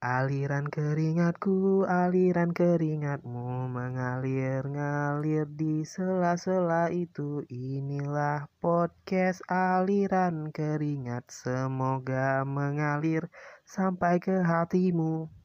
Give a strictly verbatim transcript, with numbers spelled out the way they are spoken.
Aliran keringatku, aliran keringatmu mengalir-ngalir di sela-sela itu. Inilah podcast aliran keringat, semoga mengalir sampai ke hatimu.